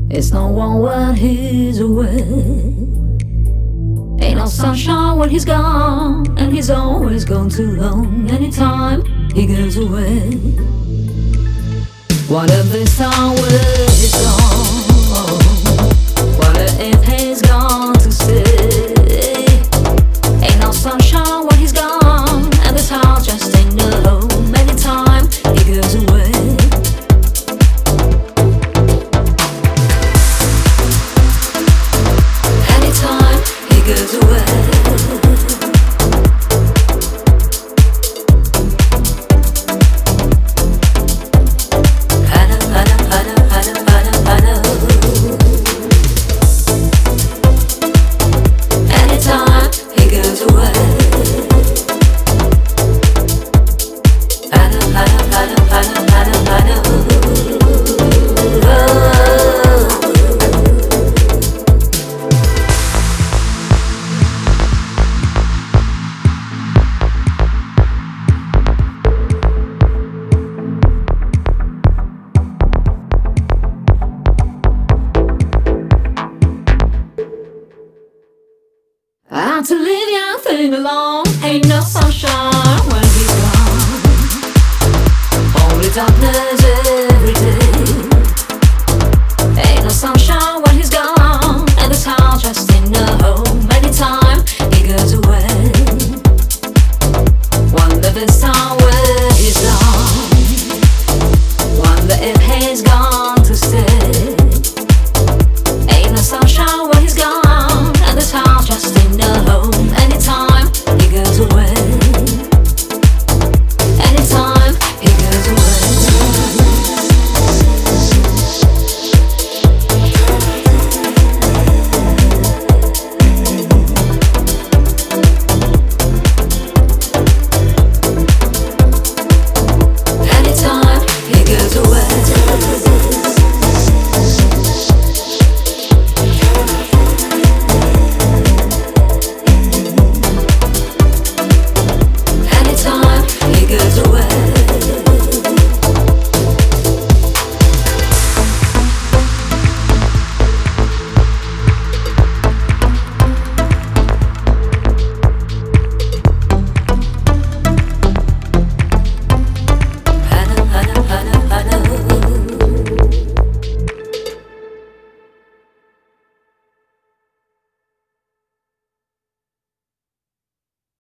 It's no one when he's away. Ain't no sunshine when he's gone, and he's always gone too long. Anytime he goes away, what if this time when he's gone? What if he's gone to stay? Ain't no sunshine when he's gone, and this house just ain't no home. Anytime he goes away, anytime he goes away. I'm to leave young thing alone. Ain't no sunshine when he's gone. Only darkness every day. Ain't no sunshine